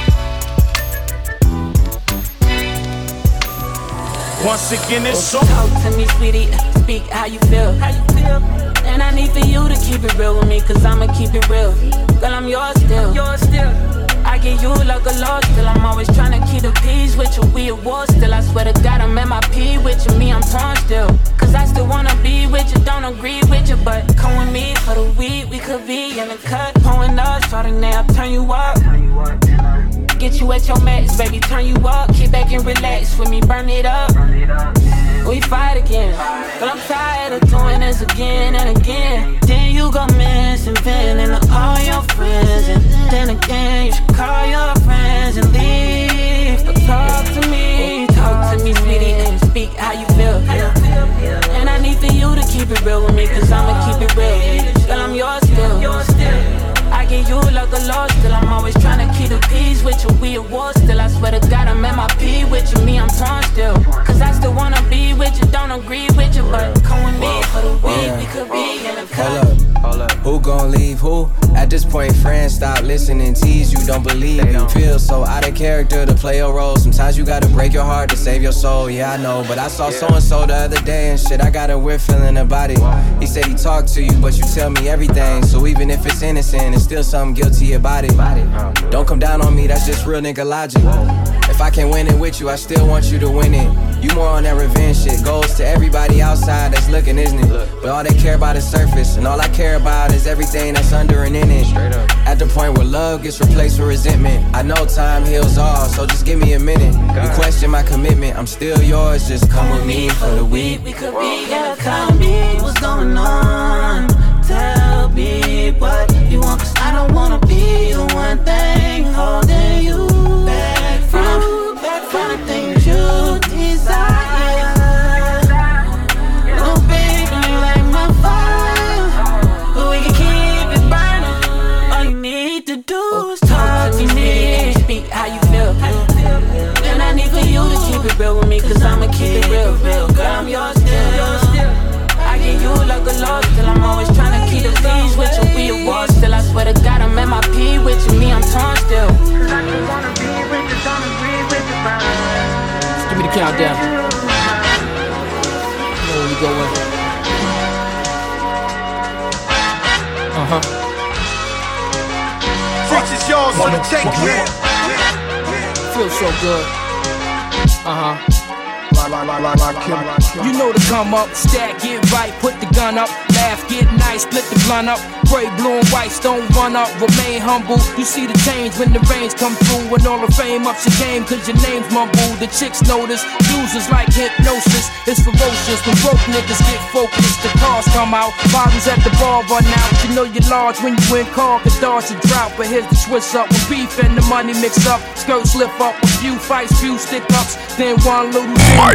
Once again, it's so. Talk to me, sweetie, speak how you feel. How you feel? And I need for you to keep it real with me, cause I'ma keep it real. Girl, I'm yours still. Yours still. I get you like a loss, still I'm always trying to keep the peace with you. We at war still, I swear to God I'm at my P with you. Me, I'm torn still, cause I still wanna be with you. Don't agree with you, but come with me for the week. We could be in the cut, pouring up, starting now, turn you up. Get you at your max, baby, turn you up. Kick back and relax with me, burn it up. We fight again, but I'm tired of doing this again and again. Then you go missing, venting to all your friends, and then again you should call your friends and leave. But talk to me, talk to me, sweetie, and speak how you feel. And I need for you to keep it real with me, cause I'ma keep it real. Girl, I'm yours still. I get you like a loss, still I'm always trying to keep the peace with you. We at war still, I swear to God I'm at my P with you. Me, I'm torn still, cause I still wanna be with you. Don't agree with you, but come with me for the week. We could be in the cut. Hold up, who gon' leave who? At this point, friends stop listening, tease you, don't believe you. Feel so out of character to play a role. Sometimes you gotta break your heart to save your soul. Yeah, I know, but I saw so-and-so the other day and shit, I got a weird feeling about it. He said he talked to you, but you tell me everything. So even if it's innocent, it's still something guilty about it. Don't come down on me, that's just real nigga logic. If I can't win it with you, I still want you to win it. You more on that revenge shit. Goes to everybody outside that's looking, isn't it? But all they care about is surface, and all I care about is everything that's under and in it. At the point where love gets replaced with resentment. I know time heals all, so just give me a minute. You question my commitment, I'm still yours. Just come with me for the week. We could be, yeah, tell me what's going on. Tell me what you want, cause I don't wanna be the one thing holding you back from, back from the things you desire. Oh baby, you like my fire, but we can keep it burning. All you need to do is talk to me, speak how you feel. And I need for you to keep it real with me, cause I'ma keep it real, real. Girl, I'm yours still. I get you like a loss, still I'm always trying to keep the peace with you. We at war still, I swear to God I'm at my P with you. Me, I'm torn still. I just wanna be with you, don't agree with you, bro. Just give me the countdown. Where we going? Uh-huh. Freaks is yours, so take it. Feels so good. Uh-huh. You know to come up, stack, get right, put the gun up, laugh, get nice, split the blunt up, pray blue and whites, don't run up, remain humble. You see the change when the rains come through, when all the fame ups your game, cause your name's mumble. The chicks notice, users like hypnosis, it's ferocious. When broke niggas get focused, the cars come out, bottles at the bar run out. You know you're large when you win car, could dodge a drought, but here's the twist up. When beef and the money mix up, skirts slip up, a few fights, few stick ups, then one little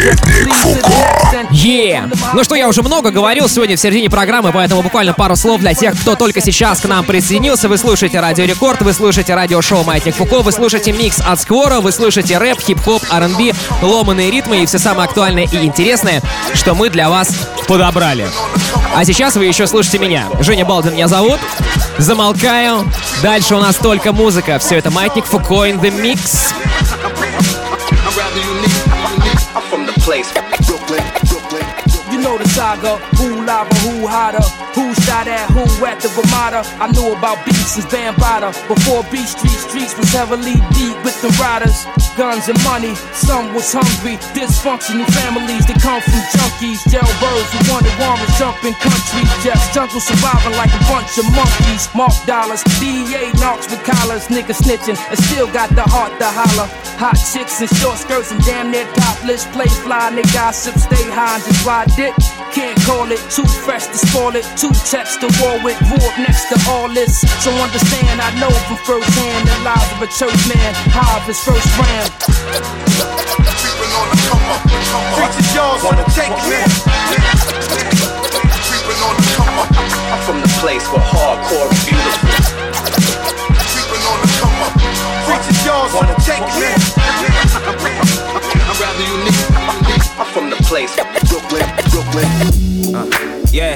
Yeah. Ну что, я уже много говорил сегодня в середине программы, поэтому буквально пару слов для тех, кто только сейчас к нам присоединился. Вы слушаете Радио Рекорд, вы слушаете радиошоу Маятник Фуко, вы слушаете микс от Сквора, вы слушаете рэп, хип-хоп, ар энд би, ломаные ритмы и все самое актуальное и интересное, что мы для вас подобрали. А сейчас вы еще слушаете меня. Женя Балдин меня зовут. Замолкаю. Дальше у нас только музыка. Все это Маятник Фуко in the mix. I'm from the place, Brooklyn, Brooklyn. You know the saga. Who lava, who hotter? Who shot at who at the Ramada? I knew about beats since Bambaataa. Before Beat Street, streets was heavily deep with the riders. Guns and money, some was hungry. Dysfunctional families that come from junkies. Jailbirds who wanted warrants, jumping countries. Just jungle surviving like a bunch of monkeys. Mark dollars, D E A knocks with collars. Niggas snitching and still got the heart to holler. Hot chicks in short skirts and damn near topless. Play fly, they gossip, stay high and just ride dick. Can't call it, too fresh to spoil it. Two checks to war with, grew up next to all this. So understand, I know from first hand the lives of a church man. High of his first brand. Creeping on the come up, come up. Preachers, y'all wanna take it. Creeping on the come up. I'm from the place where hardcore is beautiful. Creeping on the come up. Preachers, y'all wanna take it. I'm rather unique. I'm from the place, Brooklyn, Brooklyn. Uh, yeah.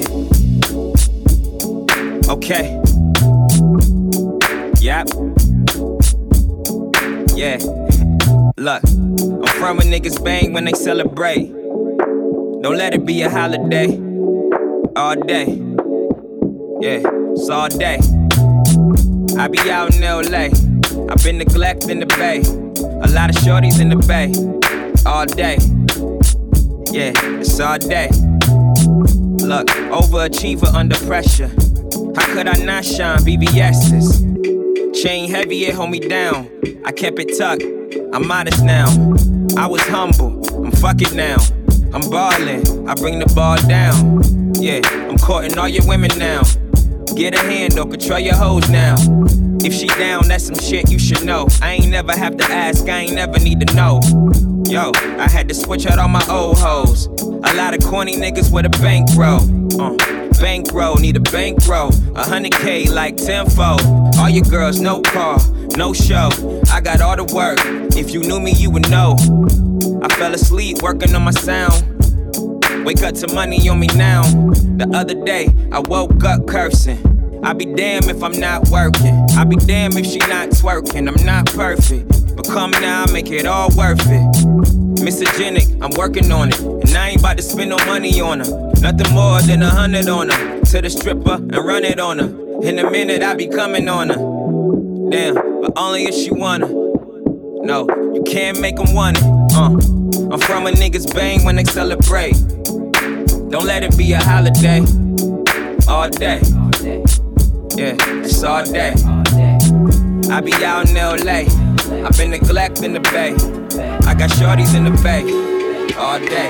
Okay. Yep. Yeah. Look, I'm from where niggas bang when they celebrate. Don't let it be a holiday. All day. Yeah, it's all day. I be out in L A. I've been neglecting the bay. A lot of shorties in the bay. All day. Yeah, it's all day. Look, overachiever under pressure. How could I not shine? V V S's. Chain heavy, it hold me down. I kept it tucked. I'm modest now. I was humble. I'm fuck it now. I'm ballin'. I bring the ball down. Yeah, I'm courting all your women now. Get a handle, control your hoes now. If she down, that's some shit you should know. I ain't never have to ask, I ain't never need to know. Yo, I had to switch out all my old hoes. A lot of corny niggas with a bankroll. Uh, bankroll, need a bankroll. A hundred K like tenfold. All your girls, no car, no show. I got all the work. If you knew me, you would know. I fell asleep working on my sound. Wake up to money on me now. The other day, I woke up cursing. I be damn if I'm not working. I be damn if she not twerking. I'm not perfect, but come now, make it all worth it. Misogenic, I'm working on it, and I ain't about to spend no money on her. Nothing more than a hundred on her. To the stripper and run it on her. In a minute, I be coming on her. Damn, but only if she wanna. No, you can't make them want it. Uh, I'm from a niggas bang when they celebrate. Don't let it be a holiday. All day. Yeah, it's all day. I be out in L A. I've been neglecting the bay. I got shorties in the bay. All day.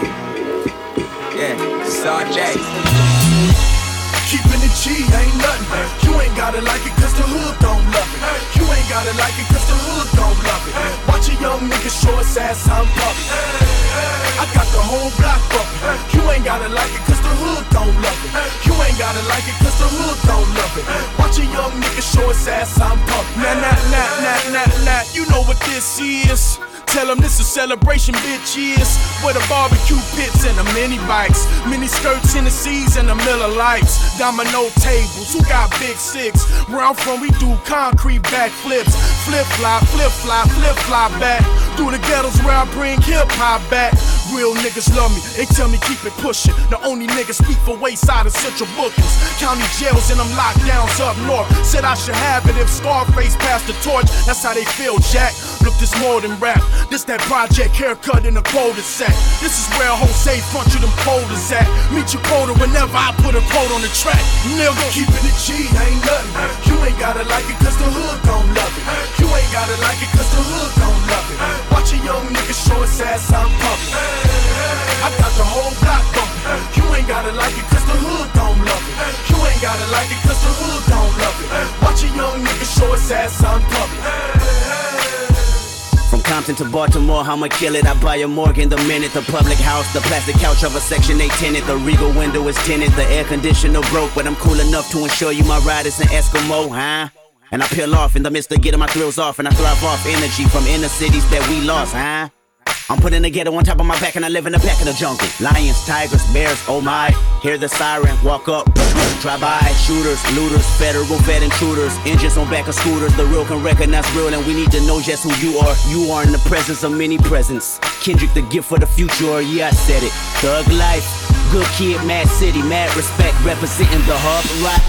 Yeah, it's all day. Keeping it G ain't nothing. You ain't gotta like it cause the hood don't love it. You ain't gotta like it cause the hood don't love it. Watch a young nigga show his ass I'm puppy. I got the whole block bumpin'. You ain't gotta like it cause the hood don't love it. You ain't gotta like it cause the hood don't love it. Watch a young nigga show his ass I'm pumpy. Nah, nah, nah, nah, nah, nah. You know what this is. Tell them this a celebration, bitch, yes. With a barbecue pits and the mini bikes. Mini skirts in the seas and the Miller Lights. Domino tables, who got big six? Where I'm from, we do concrete backflips. Flip fly, flip fly, flip fly back. Through the ghettos where I bring hip hop back. Real niggas love me, they tell me keep it pushing. The only niggas speak for Wayside and Central Bookings. County jails and them lockdowns up north. Said I should have it if Scarface passed the torch. That's how they feel, Jack. Look, this more than rap. This that project haircut in a quota set. This is where Jose front you them quotas at. Meet your quota whenever I put a quote on the track. Nigga, keeping it G ain't nothing. You ain't gotta like it cause the hood don't love it. You ain't gotta like it cause the hood don't love it. Watch a young nigga show his ass I'm pumping. I got the whole block bumping. You ain't gotta like it cause the hood don't love it. You ain't gotta like it cause the hood don't love it. Watch a young nigga show his ass I'm pumping. From Compton to Baltimore, I'ma kill it. I buy a Morgan the minute. The public house, the plastic couch of a Section eight tenant. The Regal window is tinted. The air conditioner broke, but I'm cool enough to ensure you my ride is an Eskimo, huh? And I peel off in the midst of getting my thrills off, and I thrive off energy from inner cities that we lost, huh? I'm putting the ghetto on top of my back and I live in the back of the jungle. Lions, tigers, bears, oh my. Hear the siren, walk up, drive by. Shooters, looters, federal fed intruders. Engines on back of scooters, the real can recognize real. And we need to know just who you are. You are in the presence of many presents. Kendrick the gift for the future, yeah I said it. Thug life, Good kid, mad city, mad respect, representing the harbor rock.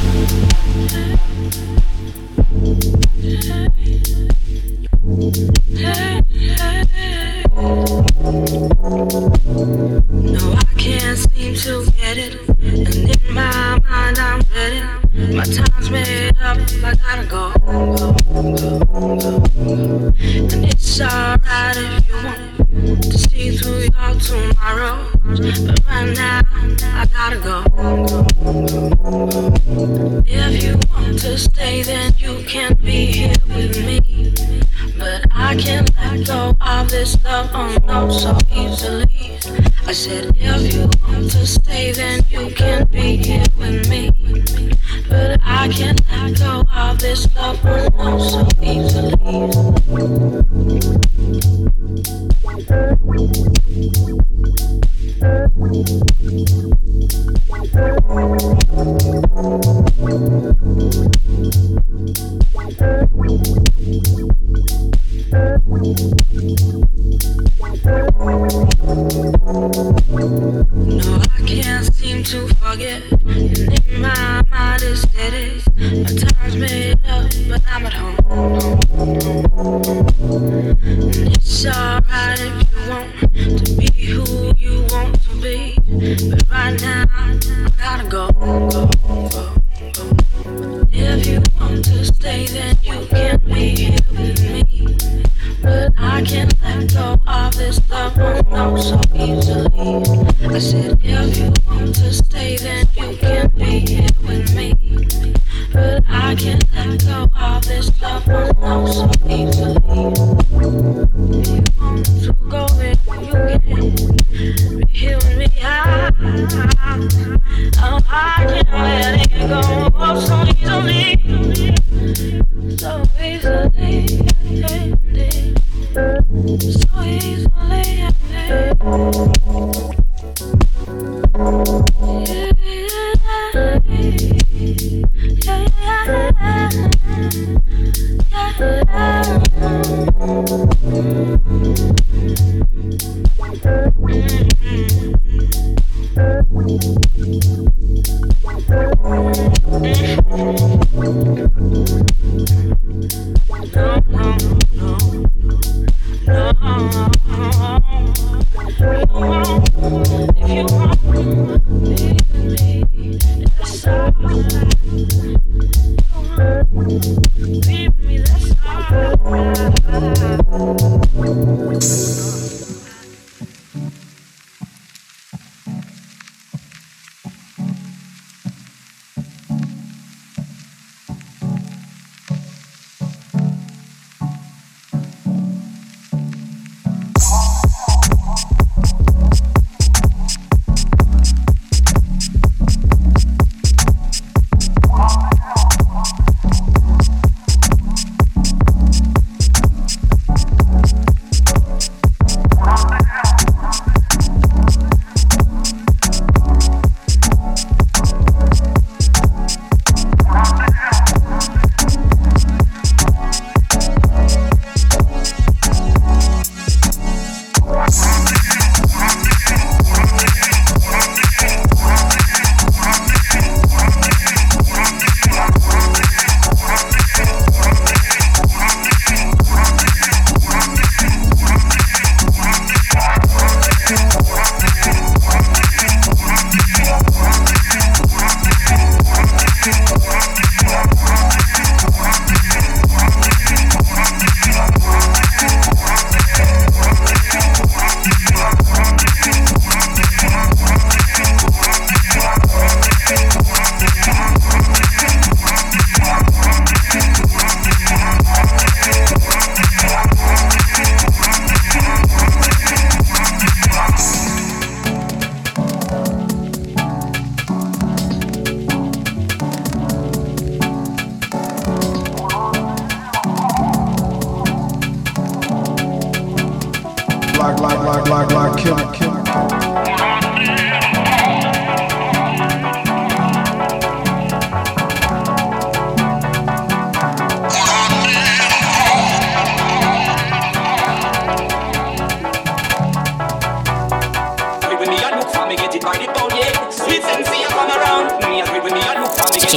No, I can't seem to get it, and in my mind I'm ready. My time's made up, I gotta go, go, go, go. And it's alright if you want to see through your tomorrow, but right now I gotta go, go, go, go. If you want to stay, then you can be here with me, but I can't let go of this love, oh no, so easily. I said if you want to stay, then you can be here with me, but I can't let go of this love, oh no, so easily. No, I can't seem to forget, and in my mind is steady. My time's made up, but I'm at home. And it's alright if you want to be who you want to be, but right now I gotta go, go, go, go. If you want to stay, then you can be here with me, but I can't let go of this love, oh no, so easily. I said if you want to stay, then you can be here with me, but I can't let go of this love, oh no, so easily. If you want to go, then you can be here with me. I, I, I can't let it go, oh, so easily, so easily, so easily. Yeah.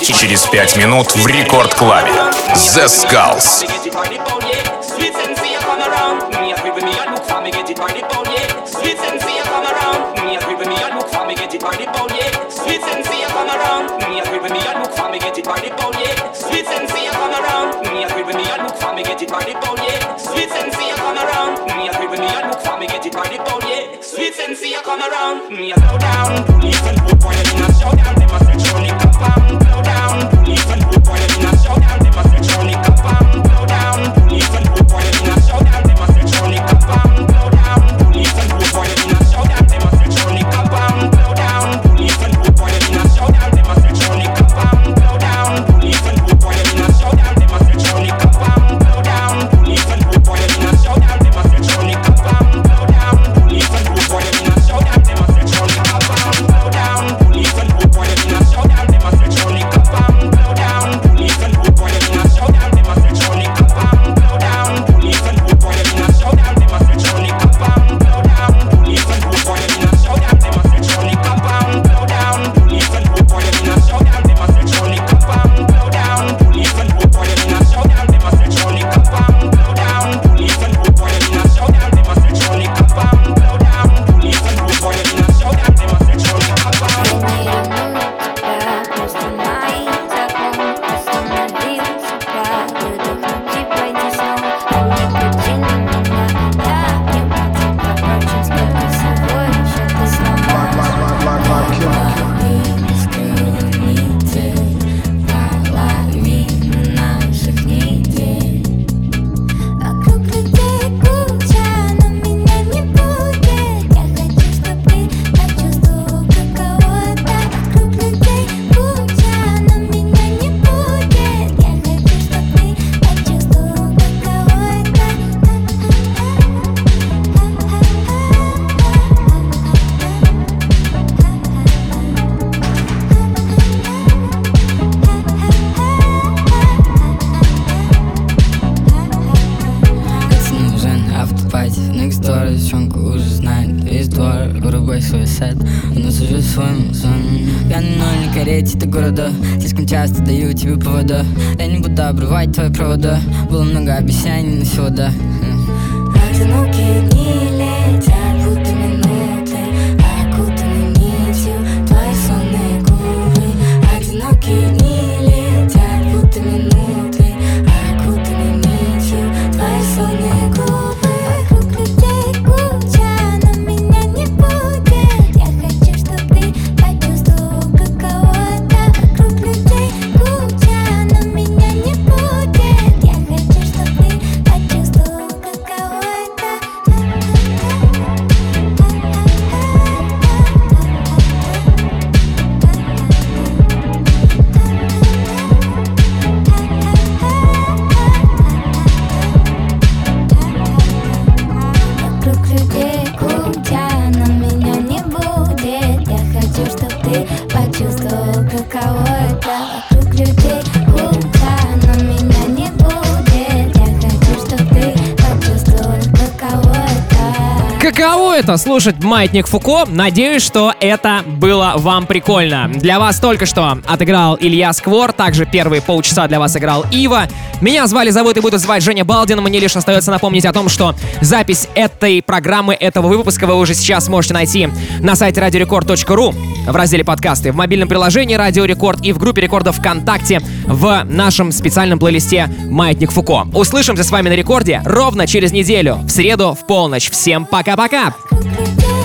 встречи через пять минут в Рекорд Клабе. The Skulls. Sweet sensei, come around. Me a slow down. Police and hoop boy in a showdown. They must sexually compound. Slow down. Police and hoop boy in a showdown. They must sexually compound. Slow down. Police and hoop boy in a showdown. They must sexually compound. Slow down. Police and hoop boy in a showdown. They must sexually compound. Slow down. Police and hoop boy in a showdown. They must sexually compound. Slow down. Police and hoop boy in a showdown. They must sexually compound. Slow down. Police and hoop boy in a showdown. They must sexually compound. Slow down. Police and hoop boy in a showdown. They must sexually compound. Slow down. Police and hoop boy in a showdown. They must sexually compound. Slow down. Police and hoop boy in a showdown. They must sexually compound. Slow down. Police and hoop boy in a showdown. They must sexually compound. Slow down. Police and hoop boy in a showdown. They must sexually compound. Slow down. Police and hoop boy in a showdown. They must sexually compound. Slow down. Police and hoop boy in a showdown. They must sexually compound. Slow down. Police and hoop boy in a showdown. They must sexually compound. Slow down. Police and hoop boy in a showdown. They must sexually compound. Города. Слишком часто даю тебе повода. Я не буду обрывать твои провода. Было много обещаний, но всего да. Одинокие дни летят, будто минуты, окутаны нитью твои сонные губы. Одинокие дни летят, будто минуты, окутаны нитью твои сонные губы. Вокруг людей куча, но меня не будет. Я хочу, чтоб ты почувствовал, каково. Каково это слушать Маятник Фуко? Надеюсь, что это было вам прикольно. Для вас только что отыграл Илья Сквор, также первые полчаса для вас играл Ива. Меня звали, зовут и буду звать Женя Балдин. Мне лишь остается напомнить о том, что запись этой программы, этого выпуска вы уже сейчас можете найти на сайте радиорекорд точка ру в разделе подкасты, в мобильном приложении Радио Рекорд и в группе Рекорда ВКонтакте в нашем специальном плейлисте Маятник Фуко. Услышимся с вами на Рекорде ровно через неделю, в среду в полночь. Всем пока-пока!